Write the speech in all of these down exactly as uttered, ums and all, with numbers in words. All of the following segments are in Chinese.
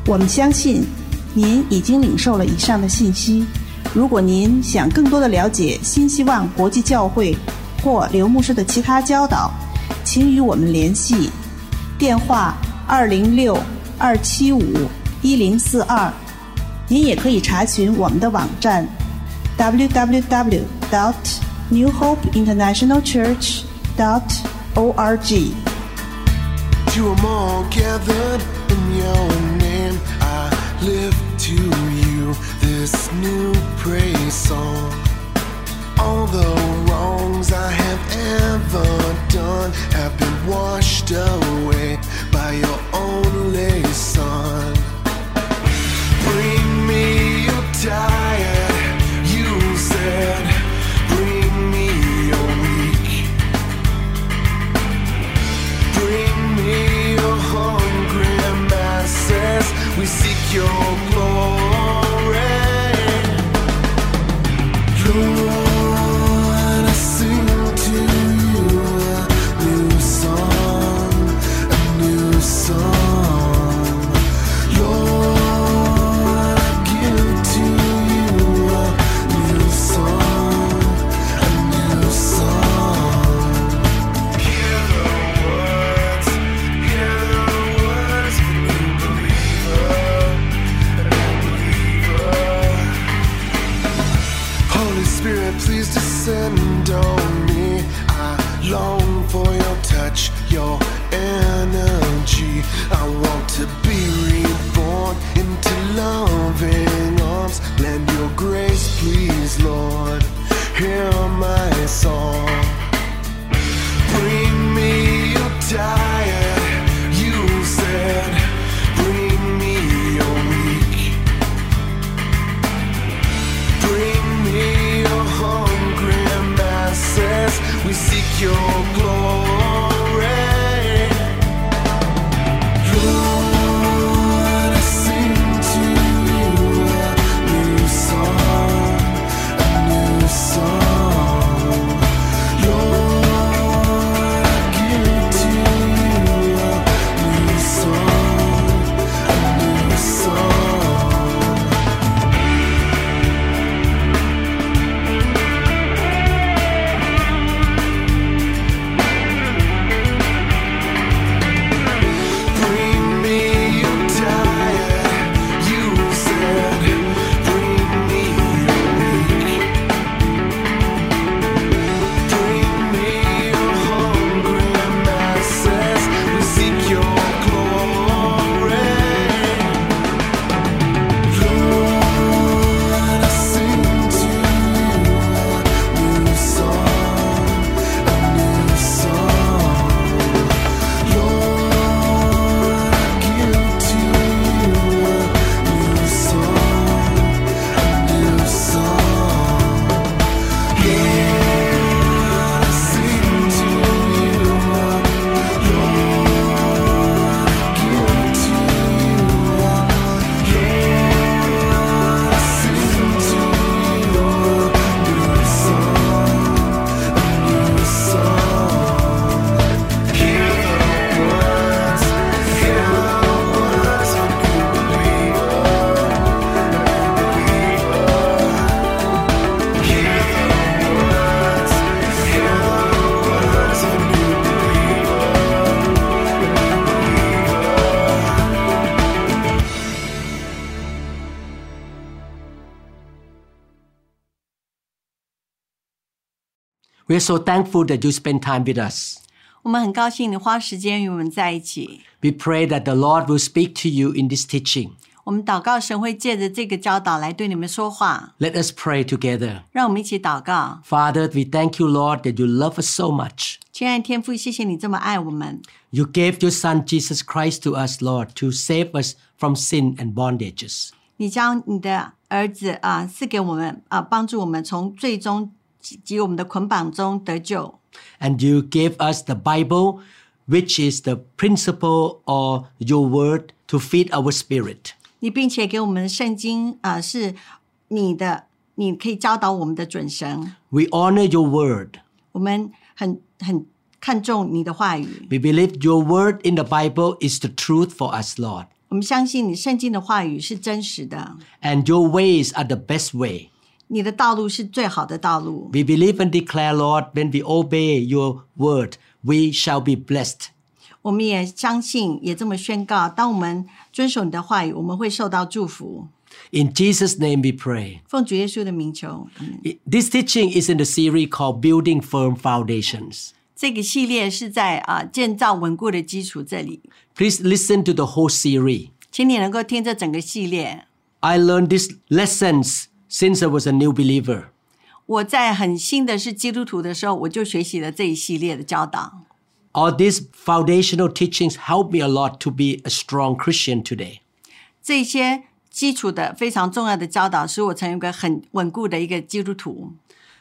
我们相信您已经领受了以上的信息。如果您想更多的了解新希望国际教会或刘牧师的其他教导，请与我们联系，电话二零六二七五一零四二。您也可以查询我们的网站 double-u double-u double-u dot new hope international church dot org。 To them all gathered in your name, I lift to you this new praise song. All the wrongs I have ever done have been washed away by your only Son. Bring me your tired, you said. Bring me your weak. Bring me your hungry masses. We seek your glory. Lord, I sing to you a new song, a new song. Lord, I give to you a new song, a new song. Hear the words, hear the words of a new believer, a new believer. Holy Spirit, please descend on me. I long for your touch, your energy. I want to be reborn into loving arms. Lend your grace, please, Lord. Hear my song. Bring me your tired, you said. Bring me your weak. Bring me your hungry masses. We seek your glory. Lord, I sing to you a new song, a new song. Lord, I give to you a new song, a new song. Bring me your tired, you said. Bring me your weak. Bring me your hungry masses. We seek your glory. Lord, I sing to you a new song, a new song. Lord, I give to you a new song, a new song. Lord, I sing to you, Lord, I give to you, Lord, I sing to you a new song, a new song. Hear the words, hear the words of a new believer, a believer. Hear the words, hear the words of a new believer, a believer. We're so thankful that you spend time with us. 我们很高兴你花时间与我们在一起。 We pray that the Lord will speak to you in this teaching. 我们祷告神会借着这个教导来对你们说话。 Let us pray together. 让我们一起祷告。 Father, we thank you, Lord, that you love us so much. 亲爱的天父，谢谢你这么爱我们。 You gave your Son, Jesus Christ, to us, Lord, to save us from sin and bondages. 你将你的儿子啊赐给我们啊，帮助我们从最终及我们的捆绑中得救。 And you gave us the Bible, which is the principle of your word to feed our spirit. 你并且给我们圣经啊，是你的，你可以教导我们的准绳。 We honor your word. 我们很很看重你的话语。 We believe your word in the Bible is the truth for us, Lord. 我们相信你圣经的话语是真实的， and your ways are the best way. 你的道路是最好的道路。 We believe and declare, Lord, when we obey your word, we shall be blessed. 我们也相信，也这么宣告，当我们遵守你的话语，我们会受到祝福。 In Jesus' name we pray. 奉主耶稣的名求。嗯 This teaching is in the series called Building Firm Foundations. 这个系列是在啊建造稳固的基础这里， Please listen to the whole series. 请你能够听这整个系列。 I learned these lessons since I was a new believer. 我在很新的是基督徒的时候，我就学习了这一系列的教导。 All these foundational teachings help me a lot to be a strong Christian today. 这些基础的非常重要的教导，使我成为一个很稳固的一个基督徒。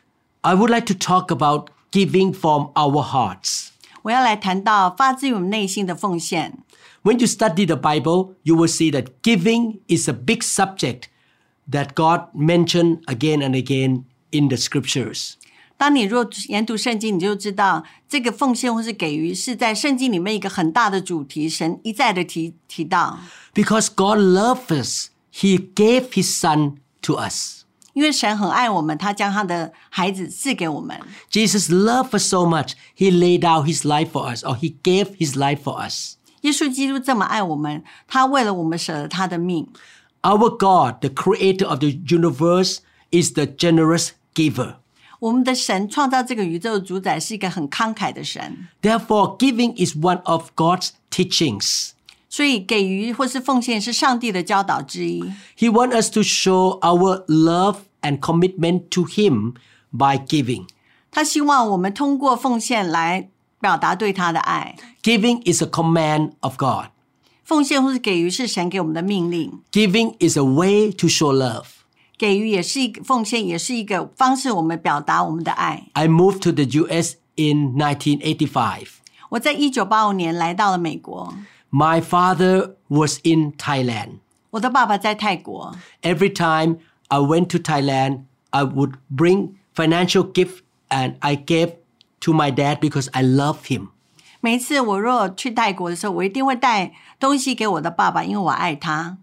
I would like to talk about giving from our hearts. 我要来谈到发自于我们内心的奉献。 When you study the Bible, you will see that giving is a big subject that God mentioned again and again in the scriptures. 当你若研读圣经，你就知道这个奉献或是给予是在圣经里面一个很大的主题，神一再的提提到。 Because God loves us, He gave His Son to us. 因为神很爱我们，他将他的孩子赐给我们。 Jesus loved us so much, He laid down His life for us, or He gave His life for us. 耶稣基督这么爱我们，他为了我们舍了他的命。 Our God, the creator of the universe, is the generous giver. 我们的神创造这个宇宙的主宰是一个很慷慨的神， Therefore, giving is one of God's teachings. 所以给予或是奉献是上帝的教导之一。 He wants us to show our love and commitment to Him by giving. 他希望我们通过奉献来表达对他的爱。 Giving is a command of God. 奉献或是给予是神给我们的命令， Giving is a way to show love. 给予也是一个奉献，也是一个方式，我们表达我们的爱。 I moved to the U S in nineteen eighty-five. 我在一九八五年来到了美国， My father was in Thailand. 我的爸爸在泰国。 Every time I went to Thailand, I would bring financial gift and I gave to my dad because I love him. 每一次我若去泰国的时候，我一定会带东西给我的爸爸，因为我爱他。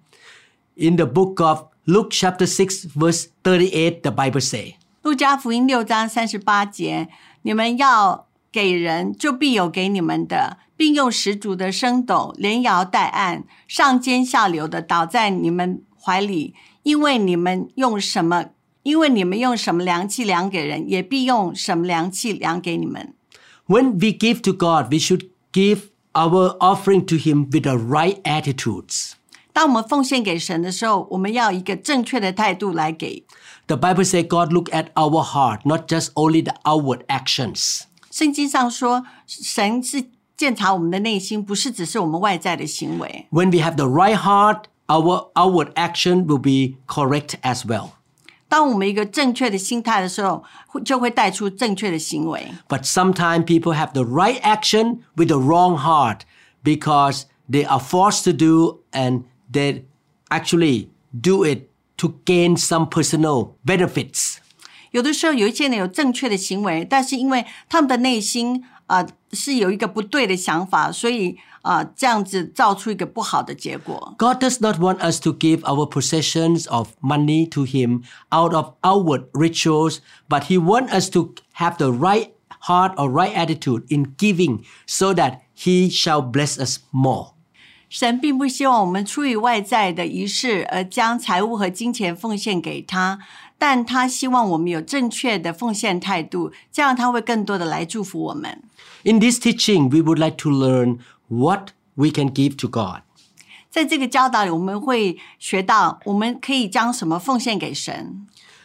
In the book of Luke chapter six verse thirty-eight, the Bible says, 路加福音六章三十八节，你们要给人，就必有给你们的，并用十足的升斗，连摇带按，上尖下流的倒在你们怀里，因为你们用什么，因为你们用什么量器量给人，也必用什么量器量给你们。 when we give to God, we should give our offering to Him with the right attitudes. 当我们奉献给神的时候，我们要一个正确的态度来给。 The Bible says God look at our heart, not just only the outward actions. 圣经上说，神是鉴察我们的内心，不是只是我们外在的行为。 When we have the right heart, our outward action will be correct as well. 当我们一个正确的心态的时候，会就会带出正确的行为。 But sometimes people have the right action with the wrong heart because they are forced to do and they actually do it to gain some personal benefits. 有的时候有一些人有正确的行为，但是因为他们的内心啊、呃、是有一个不对的想法，所以啊、呃、这样子造出一个不好的结果。 God does not want us to give our possessions of money to Him out of outward rituals, but He wants us to have the right heart or right attitude in giving so that He shall bless us more. 神并不希望我们出于外在的仪式而将财物和金钱奉献给他，但他希望我们有正确的奉献态度，这样他会更多的来祝福我们。 In this teaching, we would like to learn what we can give to God. 在这个教导里，我们会学到我们可以将什么奉献给神，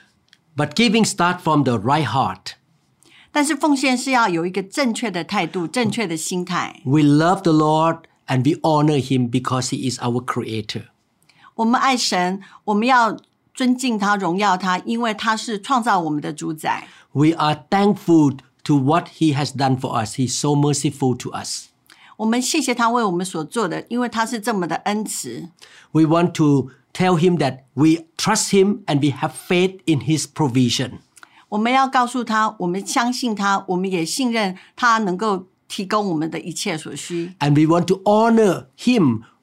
But giving starts from the right heart. 但是奉献是要有一个正确的态度、正确的心态。 We love the Lord and we honor Him because He is our creator. 我们爱神，我们要尊敬他、荣耀他，因为他是创造我们的主宰。 We are thankful to what He has done for us. He's so merciful to us. 我们谢谢他为我们所做的，因为他是这么的恩慈。 We want to tell Him that we trust Him and we have faith in His provision. 我们要告诉他，我们相信他，我们也信任他能够提供我们的一切所需。 And we want to honor Him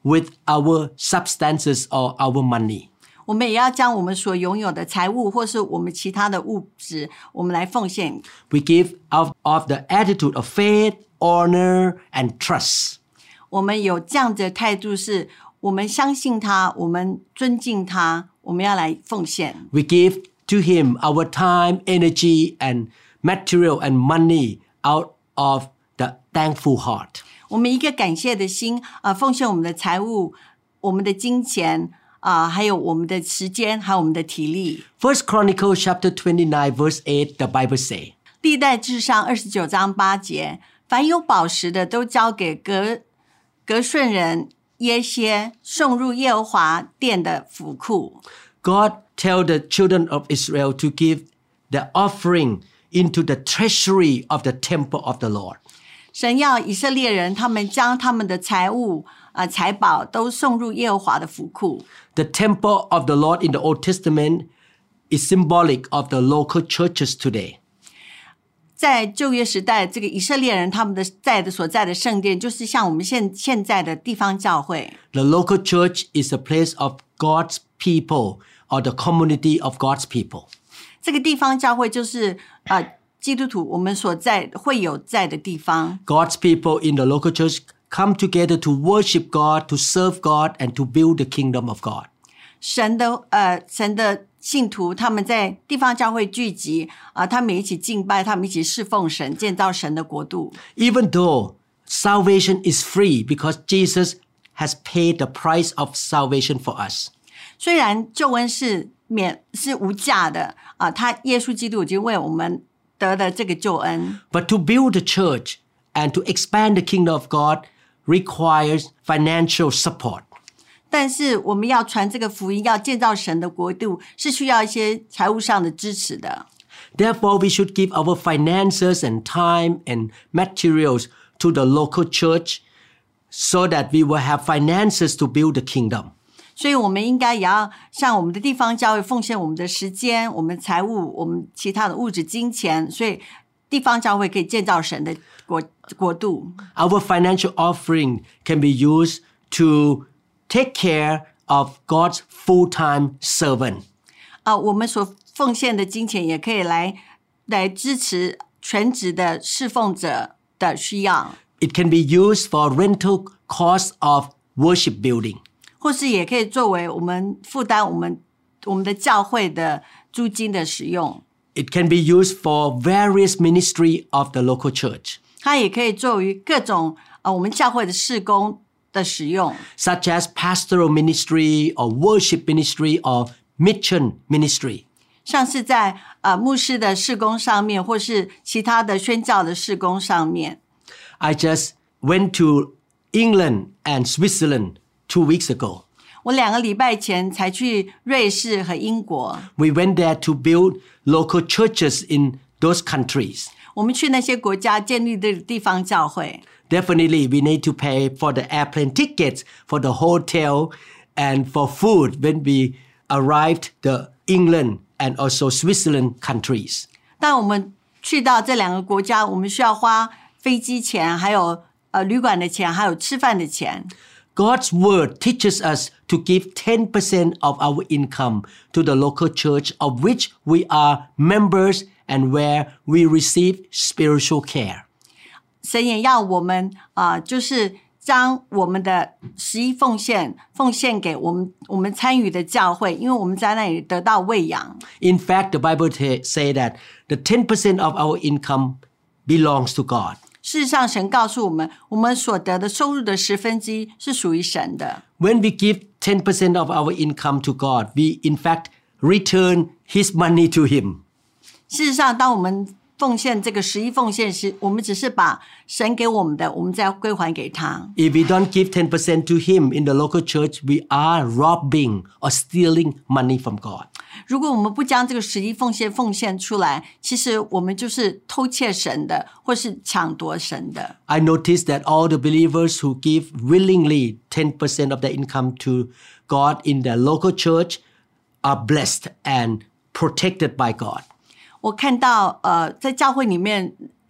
with our substances or our money. 我们也要将我们所拥有的财物或是我们其他的物质，我们来奉献。 We give out of the attitude of faith, honor, and trust. 我们有这样的态度，是我们相信他，我们尊敬他，我们要来奉献。 We give to Him our time, energy, and material and money out of the thankful heart. 我们一个感谢的心啊、呃，奉献我们的财物、我们的金钱啊、呃，还有我们的时间，还有我们的体力。 First Chronicles chapter twenty-nine verse eight, the Bible say, 历代志上二十九章八节，凡有宝石的都交给格格顺人耶歇，送入耶和华殿的府库。 God tell the children of Israel to give the offering into the treasury of the temple of the Lord. 神要以色列人，他们将他们的财物、呃、财宝都送入耶和华的府库。 The temple of the Lord in the Old Testament is symbolic of the local churches today. 在旧约时代，这个以色列人他们的在的所在的圣殿，就是像我们现现在的地方教会。 The local church is a place of God's people or the community of God's people. 这个地方教会就是呃基督徒我们所在会有在的地方。 God's people in the local church come together to worship God, to serve God, and to build the kingdom of God. 神的呃神的信徒他们在地方教会聚集啊、呃，他们一起敬拜，他们一起侍奉神，建造神的国度。 Even though salvation is free because Jesus has paid the price of salvation for us. 虽然救恩是免是无价的啊、呃，他耶稣基督已经为我们得了这个救恩。 But to build the church and to expand the kingdom of God requires financial support. 但是我们要传这个福音，要建造神的国度，是需要一些财务上的支持的。 Therefore, we should give our finances and time and materials to the local church so that we will have finances to build the kingdom. 所以我们应该也要向我们的地方教会奉献我们的时间、我们财物、我们其他的物质、金钱，所以地方教会可以建造神的国国度。 Our financial offering can be used to take care of God's full-time servant. 啊、呃，我们所奉献的金钱也可以来来支持全职的侍奉者的需要。 It can be used for rental costs of worship building. 或是也可以作为我们负担我们我们的教会的租金的使用。 It can be used for various ministry of the local church. 它也可以作为各种呃我们教会的事工的使用 such as pastoral ministry or worship ministry or mission ministry. 像是在呃牧师的事工上面，或是其他的宣教的事工上面。 I just went to England and Switzerland two weeks ago. 我两个礼拜前才去瑞士和英国。 We went there to build local churches in those countries. 我们去那些国家建立的地方教会。 Definitely, we need to pay for the airplane tickets, for the hotel, and for food when we arrived the England and also Switzerland countries. 但我们去到这两个国家，我们需要花飞机钱，还有呃旅馆的钱，还有吃饭的钱。 God's word teaches us to give ten percent of our income to the local church of which we are members and where we receive spiritual care. 神也要我们啊、呃，就是将我们的十一奉献奉献给我们我们参与的教会，因为我们在那里得到喂养。 In fact, the Bible t- say that the ten percent of our income belongs to God. 事实上，神告诉我们，我们所得的收入的十分之一是属于神的。 When we give ten percent of our income to God, we in fact return His money to Him. 事实上，当我们奉献这个十一奉献时，我们只是把神给我们的，我们再归还给他。 If we don't give ten percent to Him in the local church, we are robbing or stealing money from God. 如果我们不将这个十一奉献奉献出来，其实我们就是偷窃神的，或是抢夺神的。 I noticed that all the believers who give willingly ten percent of their income to God in their local church are blessed and protected by God. 我看到呃，在教会里面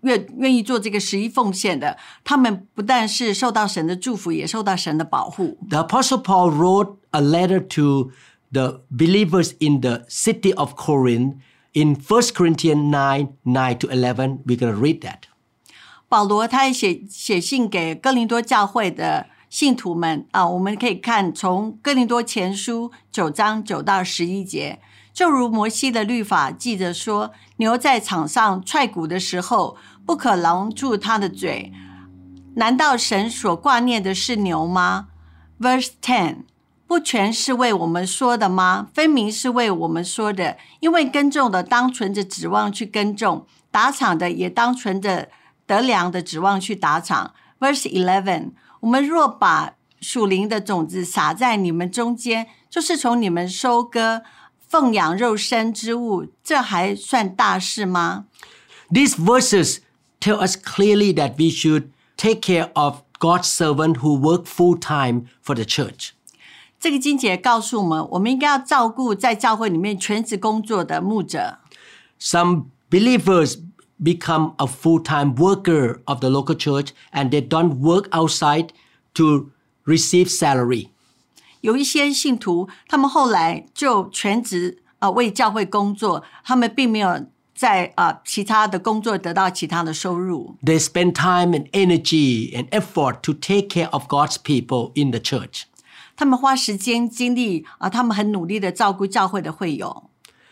愿愿意做这个十一奉献的，他们不但是受到神的祝福，也受到神的保护。 The Apostle Paul wrote a letter to the believers in the city of Corinth in First Corinthians nine, nine to eleven. We're going to read that. 保罗他也写写信给哥林多教会的信徒们啊，我们可以看从哥林多前书九章九到十一节，就如摩西的律法记着说，牛在场上踹鼓的时候，不可拦住它的嘴。难道神所挂念的是牛吗？ Verse ten， 不全是为我们说的吗？分明是为我们说的，因为耕种的当存着指望去耕种，打场的也当存着得粮的指望去打场。 Verse eleven， 我们若把属灵的种子撒在你们中间，就是从你们收割奉养肉身之物，这还算大事吗？ These verses tell us clearly that we should take care of God's servant who work full-time for the church. 这个经节告诉我们，我们应该要照顾在教会里面全职工作的牧者。 Some believers become a full-time worker of the local church and they don't work outside to receive salary. 有一些信徒，他们后来就全职、呃、为教会工作，他们并没有在、呃、其他的工作得到其他的收入。 They spend time and energy and effort to take care of God's people in the church. 他们花时间精力、呃、他们很努力的照顾教会的会友。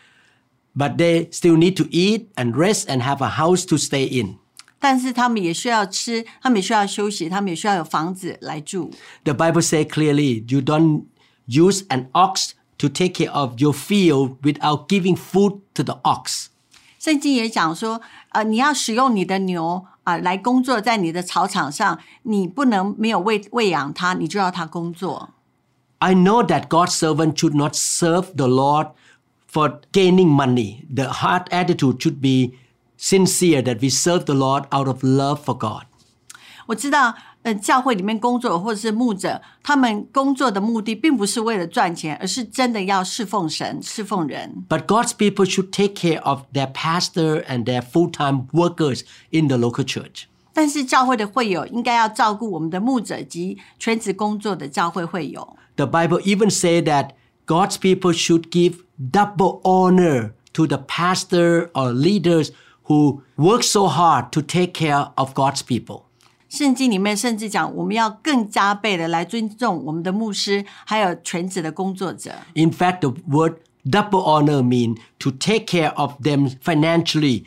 But they still need to eat and rest and have a house to stay in. 但是他们也需要吃，他们也需要休息，他们也需要有房子来住。 The Bible says clearly, you don't use an ox to take care of your field without giving food to the ox. 圣经也讲说，呃，你要使用你的牛啊、呃、来工作在你的草场上，你不能没有喂喂养它，你就要它工作。 I know that God's servant should not serve the Lord for gaining money. The heart attitude should be sincere that we serve the Lord out of love for God. 我知道，呃，教会里面工作或者是牧者，他们工作的目的并不是为了赚钱，而是真的要侍奉神、侍奉人。 But God's people should take care of their pastor and their full-time workers in the local church. 但是教会的会友应该要照顾我们的牧者及全职工作的教会会友。 The Bible even says that God's people should give double honor to the pastor or leaders who work so hard to take care of God's people. 圣经里面甚至讲，我们要更加倍的来尊重我们的牧师，还有全职的工作者。 In fact, the word double honor means to take care of them financially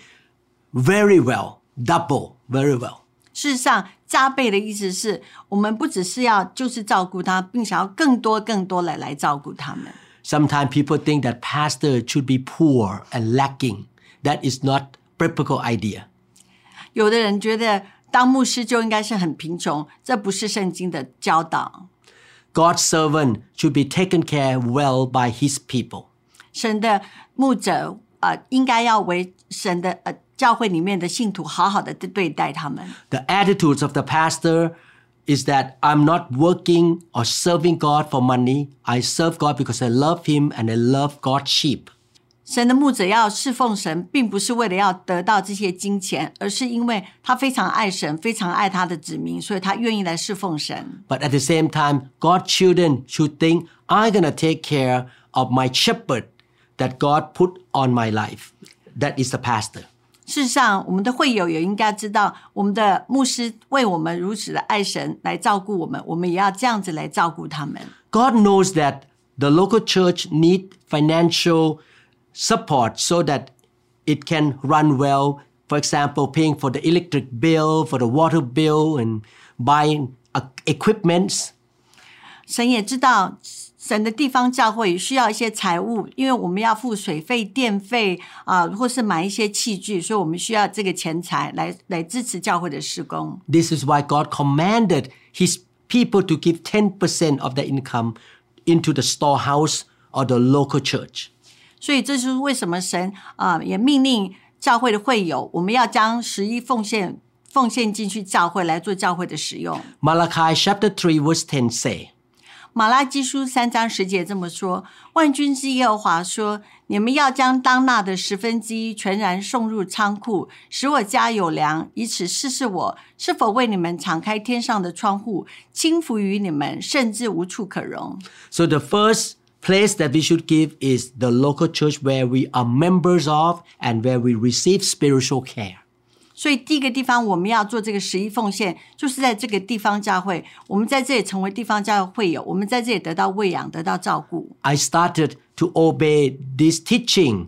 very well. Double, very well. 事实上，加倍的意思是我们不只是要就是照顾他，并且要更多更多的来照顾他们。 Sometimes people think that pastor should be poor and lacking. That is not biblical idea. 有的人觉得当牧师就应该是很贫穷，这不是圣经的教导。 God's servant should be taken care well by his people. 神的牧者、呃、应该要为神的、呃、教会里面的信徒好好的对待他们。 The attitudes of the pastor is that I'm not working or serving God for money. I serve God because I love him and I love God's sheep. 神的牧者要侍奉神，并不是为了要得到这些金钱，而是因为他非常爱神，非常爱他的子民，所以他愿意来侍奉神。 But at the same time, God's children should think, I'm going to take care of my shepherd that God put on my life. That is the pastor. 事实上，我们的会友也应该知道，我们的牧师为我们如此的爱神，来照顾我们，我们也要这样子来照顾他们。 God knows that the local church need financial support so that it can run well. For example, paying for the electric bill, for the water bill, and buying equipments. 神也知道，神的地方教会需要一些财物，因为我们要付水费、电费啊、呃，或是买一些器具，所以我们需要这个钱财来来支持教会的事工。 This is why God commanded his people to give ten percent of their income into the storehouse or the local church. 所以这是为什么神啊、呃、也命令教会的会友，我们要将十一奉献奉献进去教会来做教会的使用。 Malachi chapter three verse ten say, 马拉基书三章十节这么说：万军之耶和华说，你们要将当纳的十分之一全然送入仓库，使我家有粮，以此试试我是否为你们敞开天上的窗户，倾福于你们，甚至无处可容。 So the first place that we should give is the local church where we are members of and where we receive spiritual care. 所以第一个地方我们要做这个十一奉献，就是在这个地方教会，我们在这里成为地方教会会友，我们在这里得到喂养，得到照顾。 I started to obey this teaching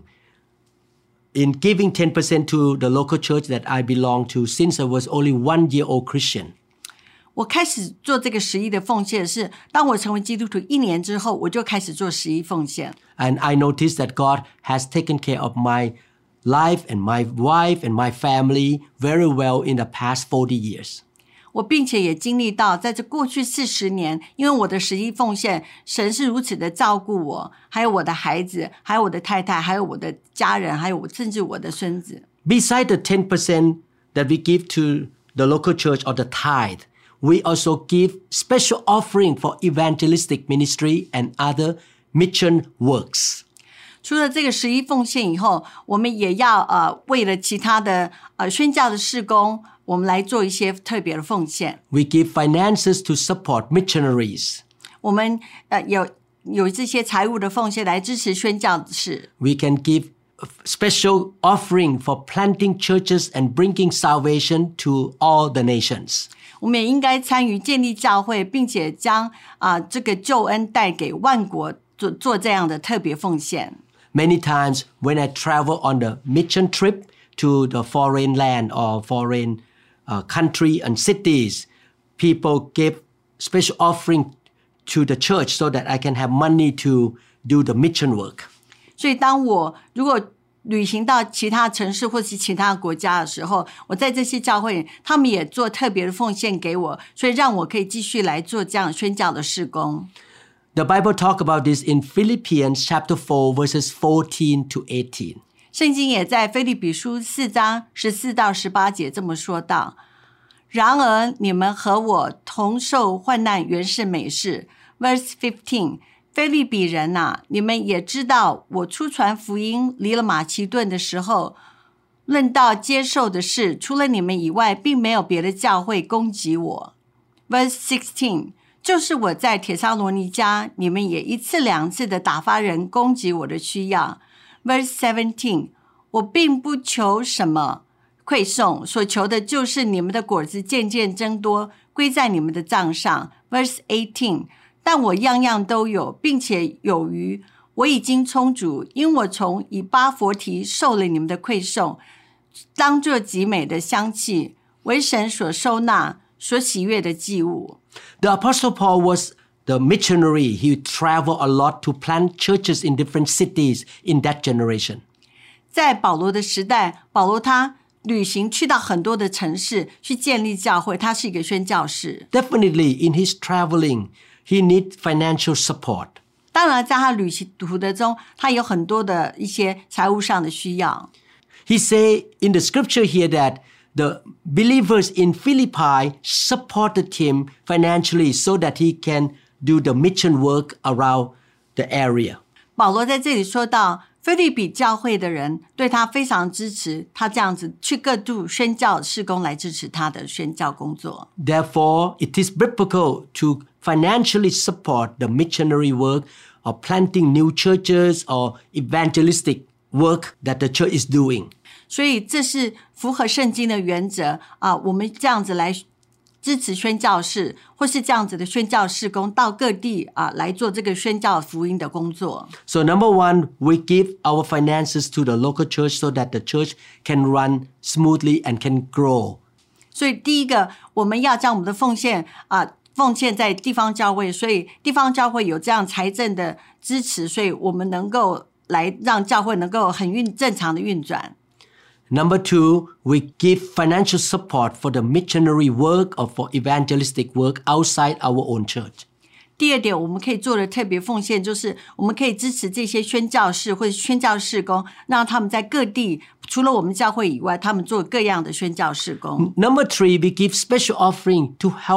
in giving ten percent to the local church that I belong to since I was only one year old Christian. 我开始做这个十一的奉献是，当我成为基督徒一年之后，我就开始做十一奉献。 And I noticed that God has taken care of my life and my wife and my family very well in the past forty years. 我并且也经历到，在这过去四十年，因为我的十一奉献，神是如此的照顾我，还有我的孩子，还有我的太太，还有我的家人，还有我甚至我的孙子。 Beside the ten percent that we give to the local church or the tithe, we also give special offering for evangelistic ministry and other mission works. 除了这个十一奉献以后，我们也要呃为了其他的呃宣教的事工，我们来做一些特别的奉献。 We give finances to support missionaries. 我们呃有有这些财务的奉献来支持宣教的事。 We can give special offering for planting churches and bringing salvation to all the nations. 我们也应该参与建立教会，并且将啊、呃、这个救恩带给万国，做做这样的特别奉献。 Many times when I travel on the mission trip to the foreign land or foreign uh, country and cities, people give special offering to the church so that I can have money to do the mission work. 所以当我如果旅行到其他城市或是其他国家的时候，我在这些教会，他们也做特别的奉献给我，所以让我可以继续来做这样宣教的事工。 The Bible talk about this in Philippians chapter four verses fourteen to eighteen. 圣经也在腓立比书四章十四到十八节这么说道：然而你们和我同受患难原是美事。 Verse fifteen， 腓立比人啊，你们也知道，我出传福音离了马其顿的时候，论到接受的事，除了你们以外，并没有别的教会攻击我。 Verse sixteen， 就是我在帖撒罗尼迦，你们也一次两次的打发人攻击我的需要。 Verse seventeen， 我并不求什么馈送，所求的就是你们的果子渐渐增多，归在你们的账上。 Verse eighteen， 但我样样都有，并且有余，我已经充足，因我从以巴弗提受了你们的馈送，当作极美的香气，为神所收纳，所喜悦的祭物。 The Apostle Paul was the missionary. He traveled a lot to plant churches in different cities in that generation. 在保罗的时代，保罗他旅行去到很多的城市去建立教会，他是一个宣教士。 Definitely in his traveling, he needs financial support. 当然在他旅行途的中，他有很多的一些财务上的需要。 He say in the scripture here that the believers in Philippi supported him financially so that he can do the mission work around the area. 保罗在这里说到，腓立比教会的人对他非常支持，他这样子去各处宣教事工来支持他的宣教工作。 Therefore, it is biblical to financially support the missionary work of planting new churches or evangelistic work that the church is doing. 所以这是符合圣经的原则啊！我们这样子来支持宣教士，或是这样子的宣教事工，到各地啊来做这个宣教福音的工作。 So number one, we give our finances to the local church so that the church can run smoothly and can grow. 所以第一个，我们要将我们的奉献啊奉献在地方教会，所以地方教会有这样财政的支持，所以我们能够来让教会能够很运正常的运转。 Number two, we give financial support for the missionary work or for evangelistic work outside our own church. 第二点，我们可以做的特别奉献，就是我们可以支持这些宣教士或者宣教事工，让他们在各地除了我们教会以外，他们做各样的宣教事工。 Number three, we give special offering to help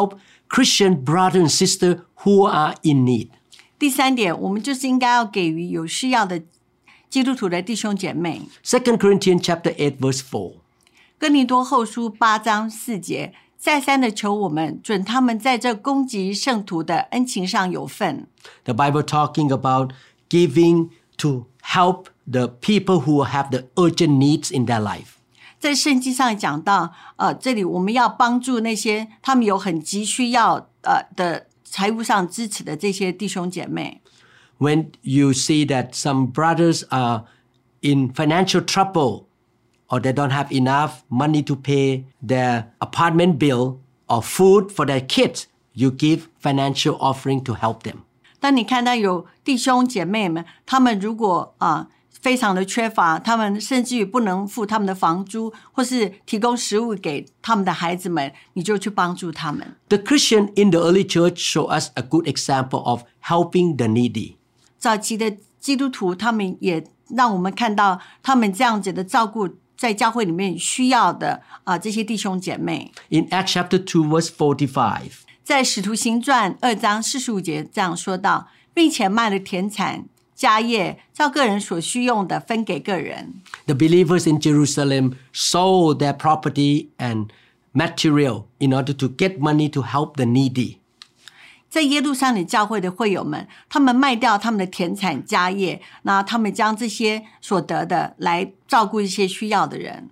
Christian brother and sister who are in need. 第三点，我们就是应该要给予有需要的基督徒的弟兄姐妹。 Second Corinthians chapter eight verse four. 哥林多后书八章四节，再三的求我们准他们在这攻击圣徒的恩情上有份。 The Bible talking about giving to help the people who have the urgent needs in their life. 在圣经上讲到，呃，这里我们要帮助那些他们有很急需要呃的财务上支持的这些弟兄姐妹。 When you see that some brothers are in financial trouble or they don't have enough money to pay their apartment bill or food for their kids, you give financial offering to help them. 当你看到有弟兄姐妹们，他们如果啊、呃、非常的缺乏，他们甚至于不能付他们的房租，或是提供食物给他们的孩子们，你就去帮助他们。 The Christian in the early church show us a good example of helping the needy. 早期的基督徒，他们也让我们看到他们这样子的照顾在教会里面需要的啊、呃、这些弟兄姐妹。 In Acts chapter two verse forty-five. 在使徒行传二章四十五节这样说到，并且卖了田产家业，照个人所需用的分给个人。 The believers in Jerusalem sold their property and material in order to get money to help the needy. 在耶路撒冷教会的会友们，他们卖掉他们的田产家业，那他们将这些所得的来照顾一些需要的人。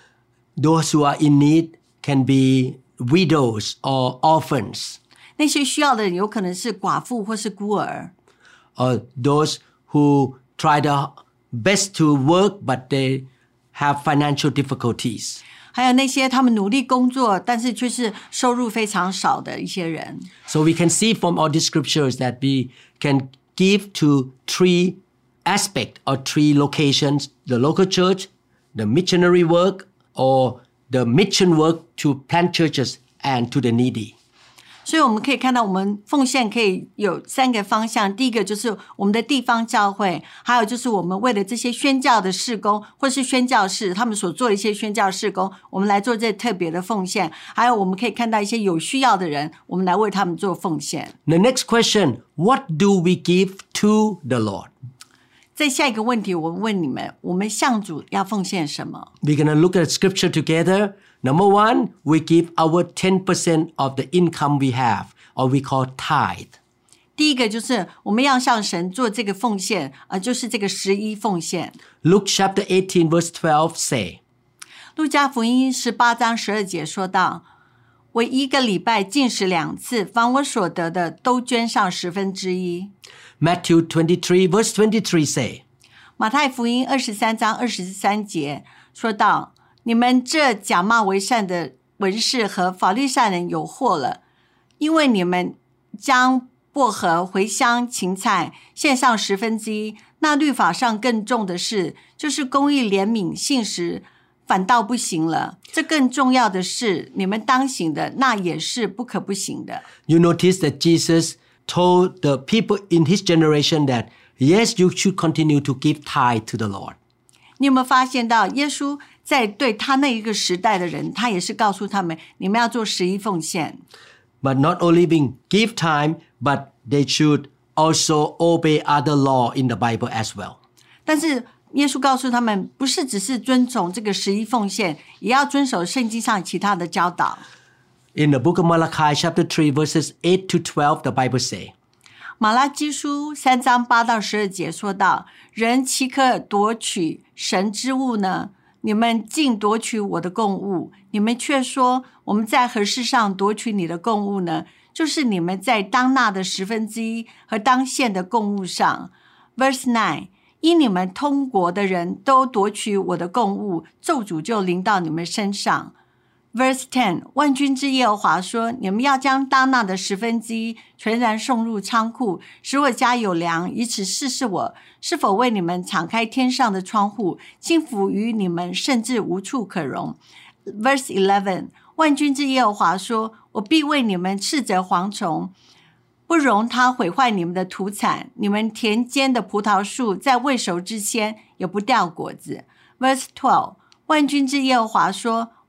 Those who are in need can be widows or orphans. 那些需要的人有可能是寡妇或是孤儿， Or those who try their best to work but they have financial difficulties. 还有那些他们努力工作，但是却是收入非常少的一些人。 So we can see from all these scriptures that we can give to three aspects or three locations: the local church, the missionary work, or the mission work to plant churches and to the needy. 所以我们可以看到，我们奉献可以有三个方向。第一个就是我们的地方教会，还有就是我们为了这些宣教的事工，或是宣教士他们所做的一些宣教事工，我们来做这特别的奉献。还有我们可以看到一些有需要的人，我们来为他们做奉献。 The next question, what do we give to the Lord? 在下一个问题，我问你们，我们向主要奉献什么？ We're going to look at scripture together. Number one, we give our ten percent of the income we have, or we call tithe. 第一个就是我们要向神做这个奉献，呃，就是这个十一奉献。 Luke chapter eighteen verse twelve say, 路加福音十八章十二节说到，我一个礼拜禁食两次，凡我所得的都捐上十分之一。 Matthew twenty-three verse twenty-three say, 马太福音二十三章二十三节说到，你们这假冒为善的文士和法利赛人有祸了，因为你们将薄荷、茴香、芹菜献上十分之一，那律法上更重的事，就是公义、怜悯、信实，反倒不行了。这更重要的是，你们当行的，那也是不可不行的。 You notice that Jesus told the people in his generation that, yes, you should continue to give tithe to the Lord. 你有没有发现到，耶稣在对他那一个时代的人，他也是告诉他们，你们要做十一奉献。 But not only being give time, but they should also obey other law in the Bible as well. 但是耶稣告诉他们，不是只是遵从这个十一奉献，也要遵守圣经上其他的教导。 In the book of Malachi chapter three verses eight to twelve, the Bible say, 马拉基书三章八到十二节说到，人岂可夺取神之物呢？你们竟夺取我的供物，你们却说，我们在何事上夺取你的供物呢？就是你们在当纳的十分之一和当献的供物上。 Verse nine， 因你们通国的人都夺取我的供物，咒诅就临到你们身上。Verse ten， 万军之耶和华说，你们要将当纳的十分之一全然送入仓库，使我家有粮，以此试试我是否为你们敞开天上的窗户，倾福于你们，甚至无处可容。Verse eleven， 万军之耶和华说，我必为你们斥责蝗虫，不容它毁坏你们的土产，你们田间的葡萄树在未熟之前也不掉果子。Verse twelve， 万军之耶和华说，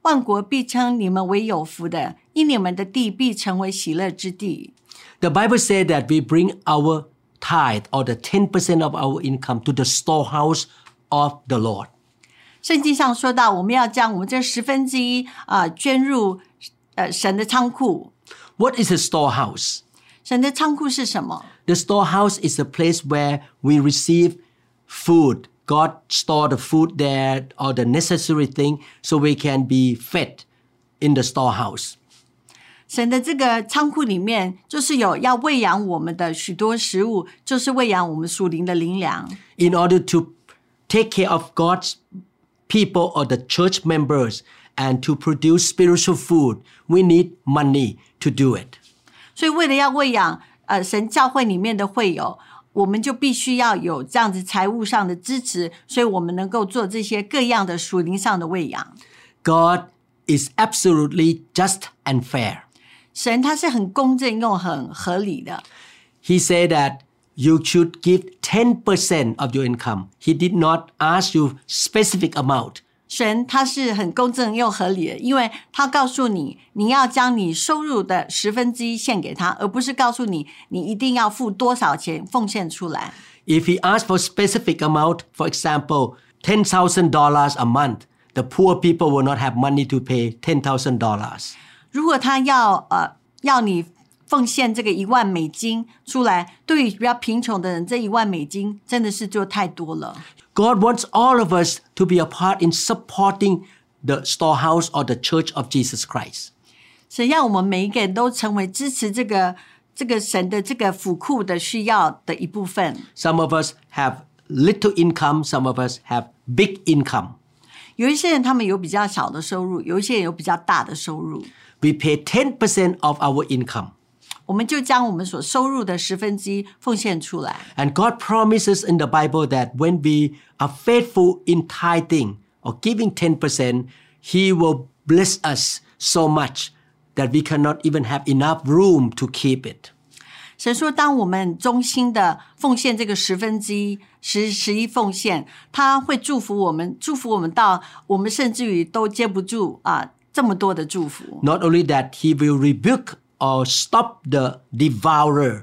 万国必称你们为有福的，因你们的地必成为喜乐之地。 The Bible says that we bring our tithe or the ten percent of our income to the storehouse of the Lord. 圣经上说到，我们要将我们这十分之一啊、呃、捐入呃神的仓库。 What is a storehouse? 神的仓库是什么？ The storehouse is a place where we receive food. God store the food there or the necessary thing so we can be fed in the storehouse. 神的这个仓库里面，就是有要喂养我们的许多食物，就是喂养我们属灵的灵粮。 In order to take care of God's people or the church members and to produce spiritual food, we need money to do it. 所以为了要喂养呃神教会里面的会友，我们就必须要有这样子财务上的支持，所以我们能够做这些各样的属灵上的喂养。 God is absolutely just and fair. 神他是很公正又很合理的。 He said that you should give ten percent of your income. He did not ask you specific amount. 神他是很公正又合理的，因为他告诉你，你要将你收入的十分之一献给他，而不是告诉你你一定要付多少钱奉献出来。 If he asked for specific amount, for example, ten thousand dollars a month, the poor people will not have money to pay ten thousand dollars. 如果他要呃要你奉献这个一万美金出来，对于比较贫穷的人，这一万美金真的是就太多了。 God wants all of us to be a part in supporting the storehouse or the church of Jesus Christ. 神要我们每一个人都成为支持这个这个神的这个府库的需要的一部分。 Some of us have little income, some of us have big income. 有一些人他们有比较小的收入，有一些人有比较大的收入。 We pay ten percent of our income. 我们就将我们所收入的十分之一奉献出来。 And God promises in the Bible that when we are faithful in tithing or giving ten percent, He will bless us so much that we cannot even have enough room to keep it. 神说，当我们忠心的奉献这个十分之一、十十一奉献，他会祝福我们，祝福我们到我们甚至于都接不住啊这么多的祝福。 Not only that, He will rebuke or stop the devourer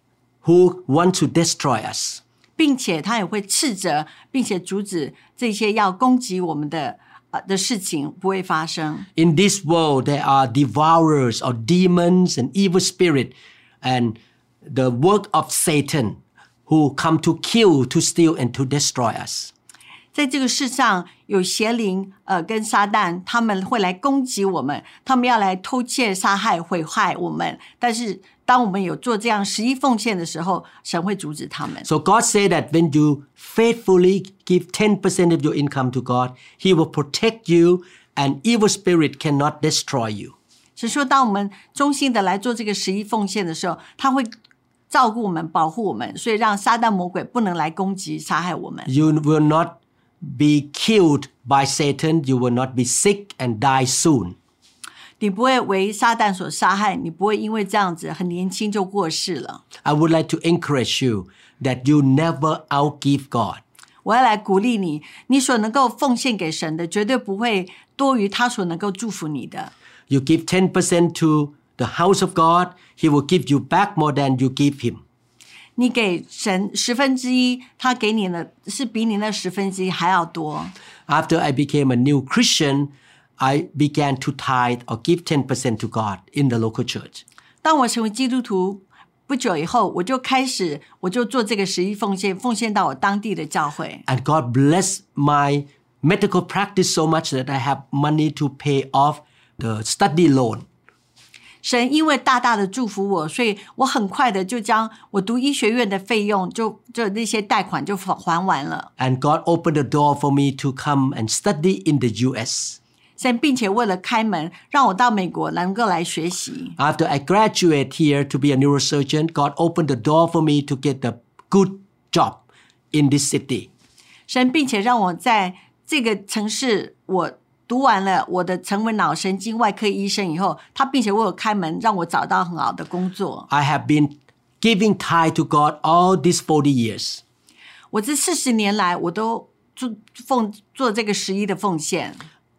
who want to destroy us. 并且他也会斥责，并且阻止这些要攻击我们的呃的事情不会发生。 In this world, there are devourers or demons and evil spirit and the work of Satan who come to kill, to steal, and to destroy us. 在这个世上有邪灵呃跟撒旦，他们会来攻击我们，他们要来偷窃、杀害、毁坏我们。但是当我们有做这样十一奉献的时候，神会阻止他们。 So God said that when you faithfully give ten percent of your income to God, He will protect you and evil spirit cannot destroy you. 是说，当我们忠心的来做这个十一奉献的时候，他会照顾我们、保护我们，所以让撒旦魔鬼不能来攻击、杀害我们。 You will not be killed by Satan. You will not be sick and die soon. 你不会为撒旦所杀害，你不会因为这样子很年轻就过世了。 I would like to encourage you that you never outgive God. 我要来鼓励你，你所能够奉献给神的，绝对不会多于他所能够祝福你的。 You give ten percent to the house of God, He will give you back more than you give Him. 你给神十分之一，他给你的是比你那十分之一还要多。 After I became a new Christian, I began to tithe or give ten percent to God in the local church. 当我成为基督徒不久以后，我就开始，我就做这个十一奉献，奉献到我当地的教会。 And God blessed my medical practice so much that I have money to pay off the study loan. 神因为大大的祝福我，所以我很快的就将我读医学院的费用就就那些贷款就还完了。 And God opened the door for me to come and study in the U S. 神并且为了开门，让我到美国能够来学习。 After I graduate here to be a neurosurgeon, God opened the door for me to get a good job in this city. 神并且让我在这个城市，我读完了我的成为脑神经外科医生以后，他并且为我开门，让我找到很好的工作。 I have been giving tithe to God all these forty years. 我这四十年来，我都做奉做这个十一的奉献。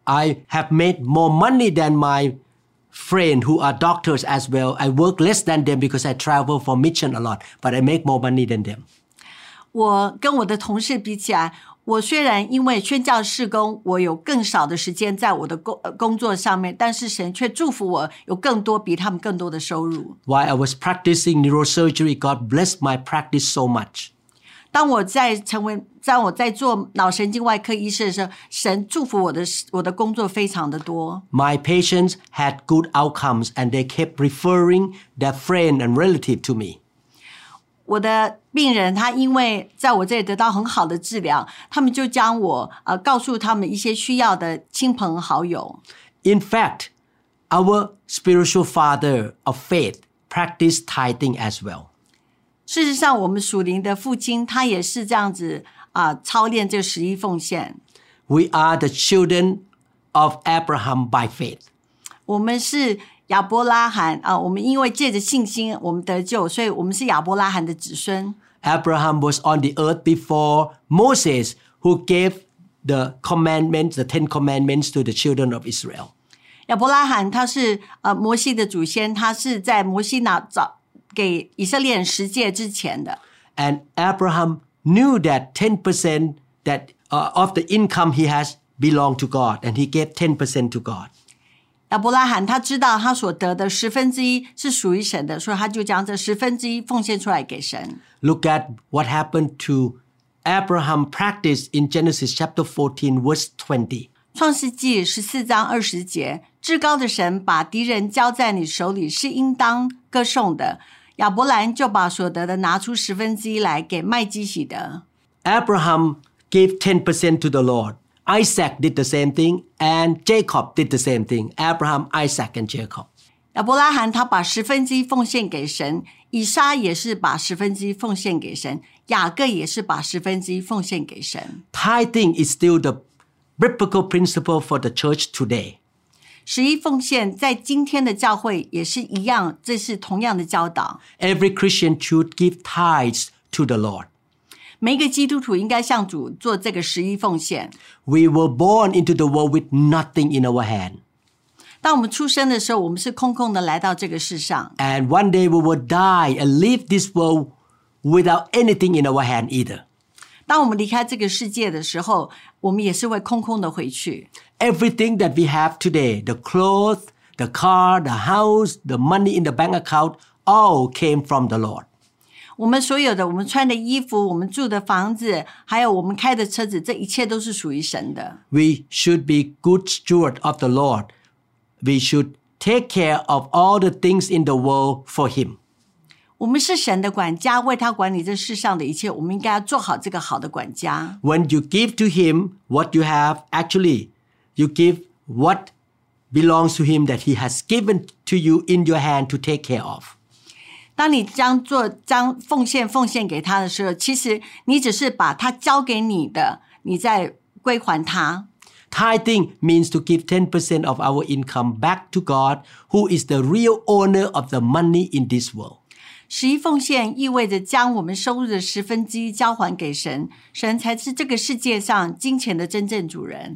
I have made more money than my friends who are doctors as well. I work less than them because I travel for mission a lot, but I make more money than them. 我跟我的同事比起来，我虽然因为宣教事工，我有更少的时间在我的工工作上面，但是神却祝福我有更多比他们更多的收入。 While I was practicing neurosurgery, God blessed my practice so much. 当我在成为，在我在做脑神经外科医师的时候，神祝福我的我的工作非常的多。 My patients had good outcomes and they kept referring their friend and relative to me. 我的病人他因为在我这里得到很好的治疗，他们就将我呃告诉他们一些需要的亲朋好友。 In fact, our spiritual father of faith practiced tithing as well. 事实上，我们属灵的父亲他也是这样子啊、呃，操练这十一奉献。 We are the children of Abraham by faith. 我们是亚伯拉罕啊、呃，我们因为借着信心我们得救，所以我们是亚伯拉罕的子孙。 Abraham was on the earth before Moses, who gave the commandments, the Ten Commandments to the children of Israel. 亚伯拉罕他是呃摩西的祖先，他是在摩西拿早给以色列人十诫之前的。 And Abraham knew that ten percent that uh, of the income he has belonged to God, and he gave ten percent to God. 亚伯拉罕他知道他所得的十分之一是属于神的，所以他就将这十分之一奉献出来给神。 Look at what happened to Abraham practice in Genesis chapter fourteen, verse twenty. 创世纪十四章二十节，至高的神把敌人交在你手里，是应当歌颂的。亚伯兰就把所得的拿出十分之一来给麦基洗德。 Abraham gave ten percent to the Lord. Isaac did the same thing, and Jacob did the same thing. Abraham, Isaac, and Jacob. 亚伯拉罕他把十分之一奉献给神，以撒也是把十分之一奉献给神，雅各也是把十分之一奉献给神。 Tithing is still the biblical principle for the church today. 十一奉献在今天的教会也是一样，这是同样的教导。 Every Christian should give tithes to the Lord. 每一个基督徒应该向主做这个十一奉献。 We were born into the world with nothing in our hand. 当我们出生的时候，我们是空空的来到这个世上。 And one day we will die and leave this world without anything in our hand either. 当我们离开这个世界的时候，我们也是会空空的回去。 Everything that we have today, the clothes, the car, the house, the money in the bank account, all came from the Lord. 我们所有的，我们穿的衣服，我们住的房子，还有我们开的车子，这一切都是属于神的。 We should be good steward of the Lord. We should take care of all the things in the world for Him. 我们是神的管家，为他管理这世上的一切，我们应该要做好这个好的管家。 When you give to Him what you have, actually, you give what belongs to Him that He has given to you in your hand to take care of. 当你将做将奉献奉献给他的时候，其实你只是把他交给你的，你再归还他。 Tithing means to give ten percent of our income back to God, who is the real owner of the money in this world. 十一奉献意味着将我们收入的十分之一交还给神，神才是这个世界上金钱的真正主人。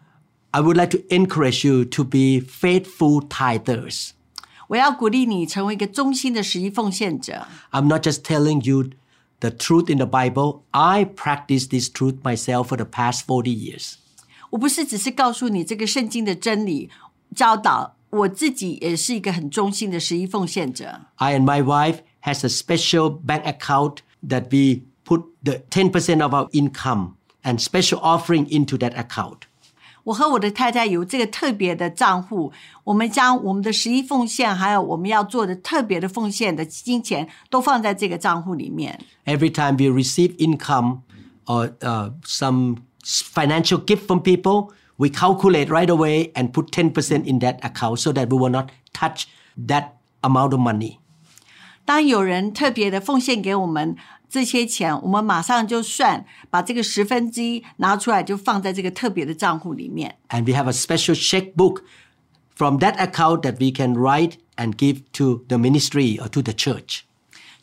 I would like to encourage you to be faithful tithers. 我要鼓励你成为一个忠心的十一奉献者。 I'm not just telling you the truth in the Bible. I practice this truth myself for the past forty years. 我不是只是告诉你这个圣经的真理教导，我自己也是一个很忠心的十一奉献者。 I and my wife has a special bank account that we put the ten percent of our income and special offering into that account. 我和我的太太有这个特别的账户，我们将我们的十一奉献还有我们要做的特别的奉献的金钱都放在这个账户里面。 Every time we receive income or uh, some financial gift from people, we calculate right away and put ten percent in that account so that we will not touch that amount of money. 当有人特别的奉献给我们这些钱，我们马上就算，把这个十分之一拿出来，就放在这个特别的账户里面。 And we have a special checkbook from that account that we can write and give to the ministry or to the church.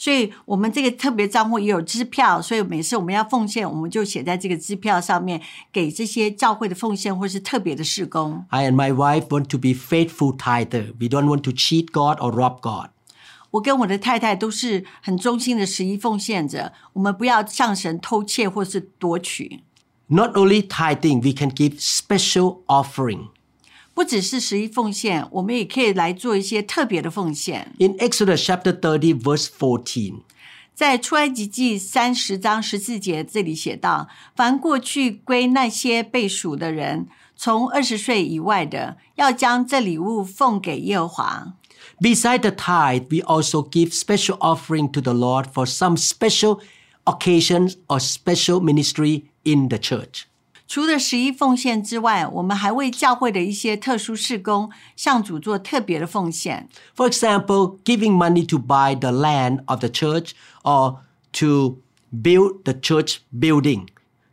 所以我们这个特别账户也有支票，所以每次我们要奉献，我们就写在这个支票上面，给这些教会的奉献或是特别的事工。 I and my wife want to be faithful tither. We don't want to cheat God or rob God. 我跟我的太太都是很忠心的十一奉献者，我们不要向神偷窃或是夺取。 Not only tithing, we can give special offering. 不只是十一奉献，我们也可以来做一些特别的奉献。 In Exodus chapter thirty, verse fourteen, 在出埃及记三十章十四节这里写道：凡过去归那些被数的人，从二十岁以外的，要将这礼物奉给耶和华。 beside the tithe, we also give special offering to the Lord for some special occasions or special ministry in the church. 除了十一奉献之外，我们还为教会的一些特殊事工向主做特别的奉献。 For example, giving money to buy the land of the church or to build the church building,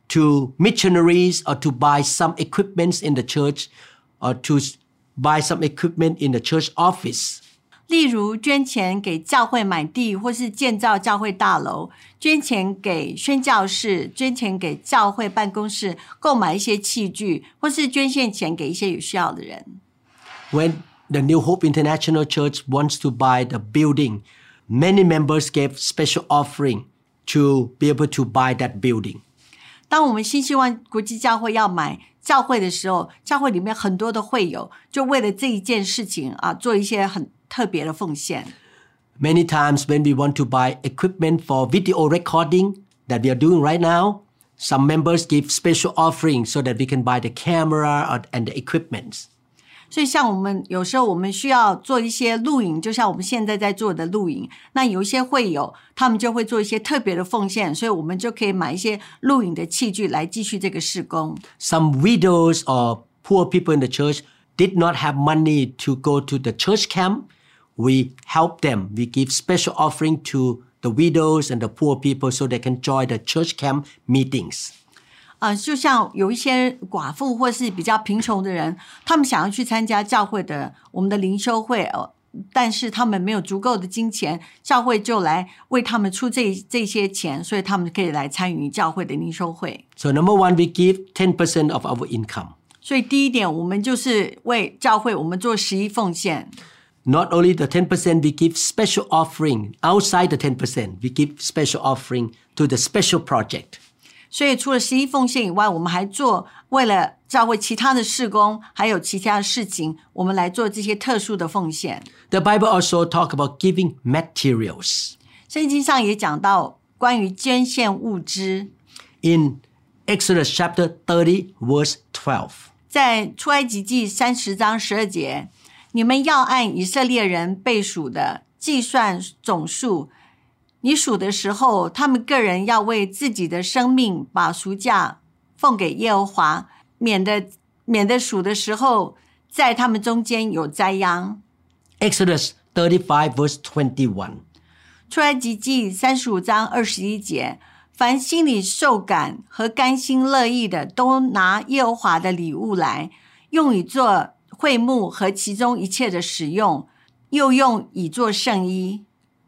to missionaries or to buy some equipments in the church or to buy some equipment in the church office. 例如捐钱给教会买地，或是建造教会大楼，捐钱给宣教士，捐钱给教会办公室购买一些器具，或是捐献钱给一些有需要的人。 When the New Hope International Church wants to buy the building, many members gave special offering to be able to buy that building. 当我们新希望国际教会要买教会的时候，教会里面很多的会友就为了这一件事情啊，做一些很特别的奉献。 Many times when we want to buy equipment for video recording that we are doing right now, some members give special offering so that we can buy the camera or, and the equipments. 所以像我们有时候我们需要做一些录影，就像我们现在在做的录影，那有一些会友他们就会做一些特别的奉献，所以我们就可以买一些录影的器具来继续这个事工。 Some widows or poor people in the church did not have money to go to the church camp. We help them. We give special offering to the widows and the poor people so they can join the church camp meetings. 呃，就像有一些寡妇或是比较贫穷的人，他们想要去参加教会的我们的灵修会，呃，但是他们没有足够的金钱，教会就来为他们出这这些钱，所以他们可以来参与教会的灵修会。 So number one, we give ten percent of our income. 所以第一点，我们就是为教会我们做十一奉献。 Not only the ten percent, we give special offering. Outside the ten percent, we give special offering to the special project. 所以除了十一奉献以外，我们还做为了教会其他的事工，还有其他的事情，我们来做这些特殊的奉献。 The Bible also talk about giving materials. 圣经上也讲到关于捐献物资。 In Exodus chapter thirty, verse twelve. 在出埃及记三十章十二节，你们要按以色列人被数的计算总数。你数的时候，他们个人要为自己的生命把赎价奉给耶和华，免得免得数的时候，在他们中间有灾殃。 Exodus thirty-five, verse twenty-one. 出埃及记三十五章二十一节，凡心里受感和甘心乐意的，都拿耶和华的礼物来，用以做会幕和其中一切的使用，又用以做圣衣。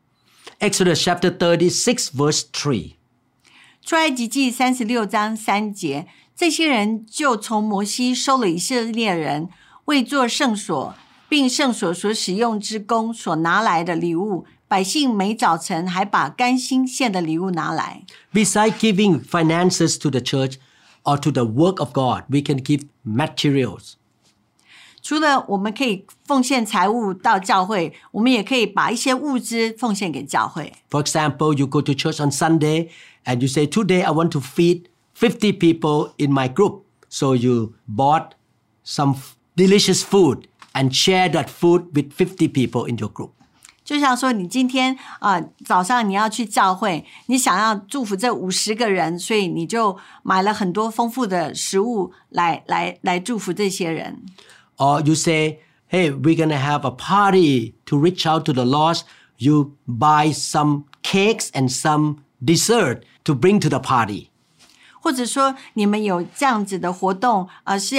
Exodus chapter thirty-six, verse three. 出埃及记三十六章三节，这些人就从摩西收了以色列人为做圣所，并圣所所使用之工所拿来的礼物，百姓每早晨还把甘心献的礼物拿来。 Besides giving finances to the church or to the work of God, we can give materials. 除了我们可以奉献财物到教会，我们也可以把一些物资奉献给教会。 For example, you go to church on Sunday and you say, today I want to feed fifty people in my group. So you bought some delicious food and share that food with fifty people in your group. 就像说你今天啊、呃、早上你要去教会，你想要祝福这五十个人，所以你就买了很多丰富的食物来来来祝福这些人。 Or you say, hey, we're going to have a party to reach out to the lost. You buy some cakes and some dessert to bring to the party. 或者说你们有这样子的活动，呃，是要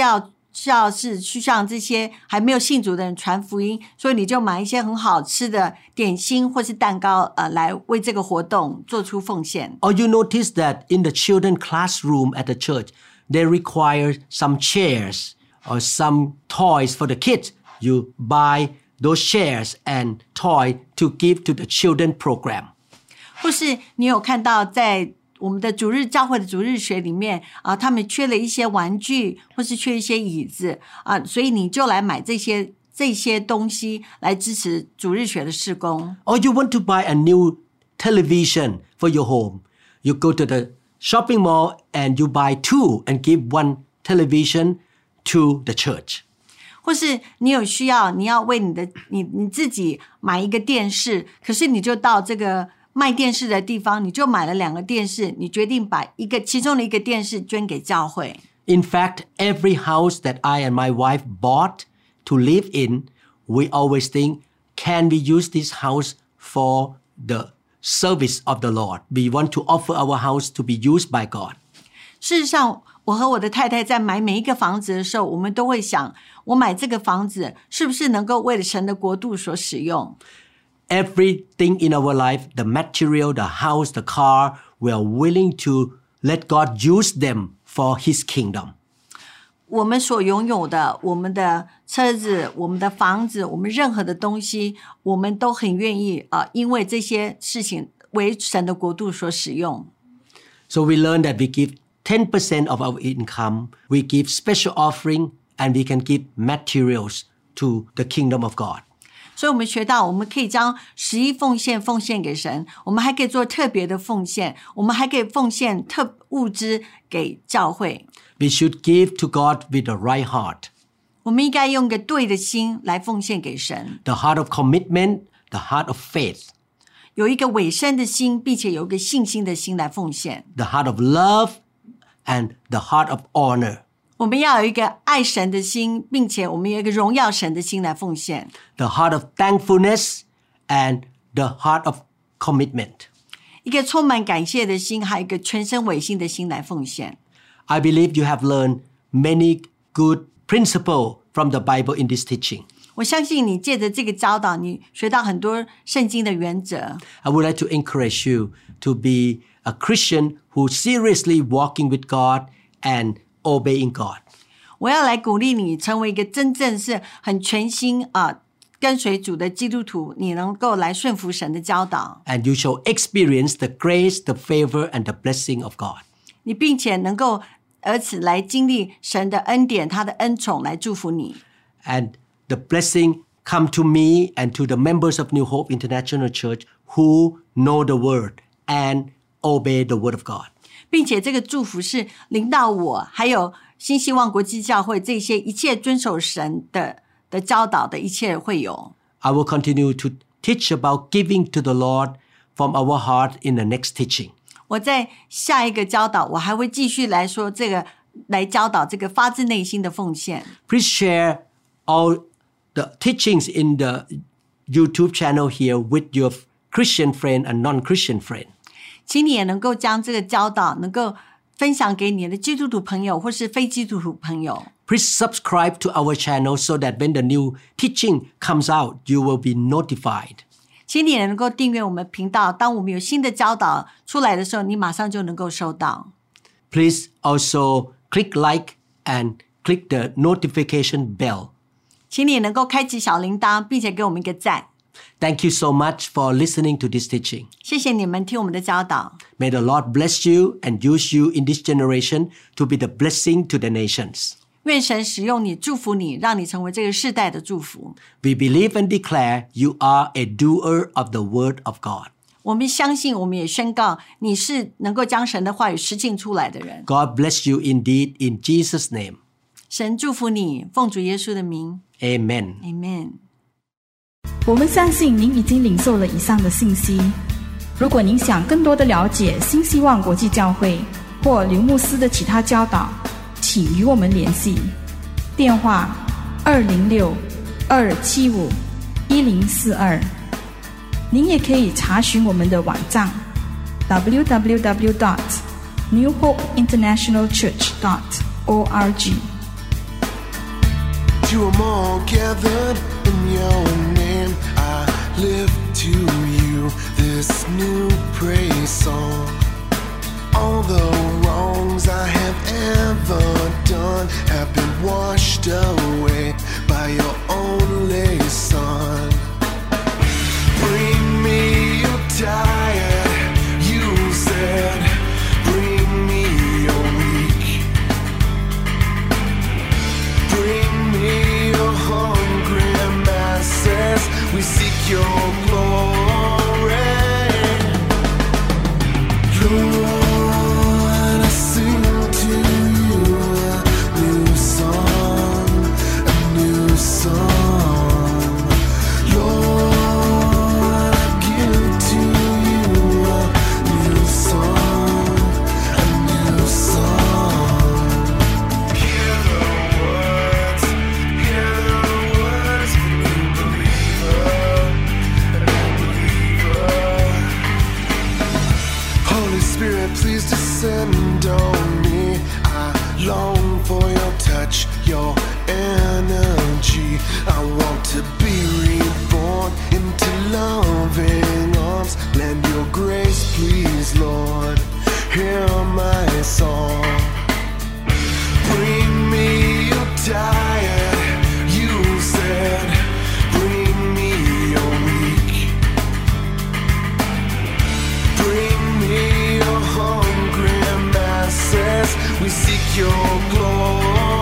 要是去向这些还没有信主的人传福音，所以你就买一些很好吃的点心或是蛋糕，呃，来为这个活动做出奉献。 Or you notice that in the children classroom at the church, they require some chairs or some toys for the kids. You buy those chairs and toy to give to the children program. 或是你有看到在我们的主日教会的主日学里面啊，他们缺了一些玩具，或是缺一些椅子啊，所以你就来买这些这些东西来支持主日学的事工。 Or you want to buy a new television for your home. You go to the shopping mall and you buy two and give one television to the church. 或是你有需要，你要为你的你你自己买一个电视，可是你就到这个卖电视的地方，你就买了两个电视，你决定把一个其中的一个电视捐给教会。 In fact, every house that I and my wife bought to live in, we always think, can we use this house for the service of the Lord? We want to offer our house to be used by God. 事实上，我和我的太太在买每一个房子的时候，我们都会想，我买这个房子是不是能够为了神的国度所使用？ Everything in our life, the material, the house, the car, we are willing to let God use them for His kingdom. 我们所拥有的，我们的车子，我们的房子，我们任何的东西，我们都很愿意啊、呃，因为这些事情为神的国度所使用。 So we learn that we give ten percent of our income, we give special offering, and we can give materials to the kingdom of God. 所以我们学到，我们可以将十一奉献奉献给神，我们还可以做特别的奉献，我们还可以奉献特物资给教会。 We should give to God with the right heart. 我们应该用个对的心来奉献给神。 The heart of commitment, the heart of faith. 有一个委身的心，并且有一个信心的心来奉献。 The heart of love and the heart of honor. 我们要有一个爱神的心，并且我们有一个荣耀神的心来奉献。 The heart of thankfulness and the heart of commitment. 一个充满感谢的心，还有一个全身委心的心来奉献。 I believe you have learned many good principles from the Bible in this teaching. 我相信你借着这个教导，你学到很多圣经的原则。 I would like to encourage you to be a Christian who seriously walking with God and obeying God. 我要来鼓励你成为一个真正是很全心啊、呃、跟随主的基督徒，你能够来顺服神的教导。 And you shall experience the grace, the favor, and the blessing of God. 你并且能够而此来经历神的恩典，他的恩宠来祝福你。 And the blessing come to me and to the members of New Hope International Church who know the word and obey the word of God. 并且这个祝福是临到我，还有新希望国际教会这些一切遵守神的的教导的一切会友。 I will continue to teach about giving to the Lord from our heart in the next teaching. 我在下一个教导，我还会继续来说这个，来教导这个发自内心的奉献。 Please share all the teachings in the YouTube channel here with your Christian friend and non-Christian friend. 请你也能够将这个教导能够分享给你的基督徒朋友或是非基督徒朋友。 Please subscribe to our channel so that when the new teaching comes out, you will be notified. 请你也能够订阅我们频道，当我们有新的教导出来的时候，你马上就能够收到。 Please also click like and click the notification bell. 请你也能够开启小铃铛，并且给我们一个赞。 Thank you so much for listening to this teaching. 谢谢你们听我们的教导。 May the Lord bless you and use you in this generation to be the blessing to the nations. 愿神使用你，祝福你，让你成为这个世代的祝福。 We believe and declare you are a doer of the word of God. 我们相信，我们也宣告，你是能够将神的话语实践出来的人。 God bless you indeed in Jesus' name. 神祝福你，奉主耶稣的名。 Amen. Amen。 我们相信您已经领受了以上的信息。如果您想更多的了解新希望国际教会或刘牧师的其他教导，请与我们联系。电话二零六二七五一零四二。您也可以查询我们的网站 double-u double-u double-u dot new hope international church dot org。 to 'em all gathered in your name, I lift to you this new praise song. All the wrongs I have ever done have been washed away by your only Son. Bring me your tired, you said. Bring me your weak. Bring me your hungry masses. We seek your glory. Lord, I sing to you a new song, a new song. Lord, I give to you a new song, a new song. Hear the words, hear the words, new believer, new believer. Holy Spirit, please descend on me. I long for your touch, your energy. I want to be reborn into loving arms. Lend your grace, please, Lord. Hear my song. Bring me your tired, you said. Bring me your weak. Bring me your hungry masses. We seek your glory.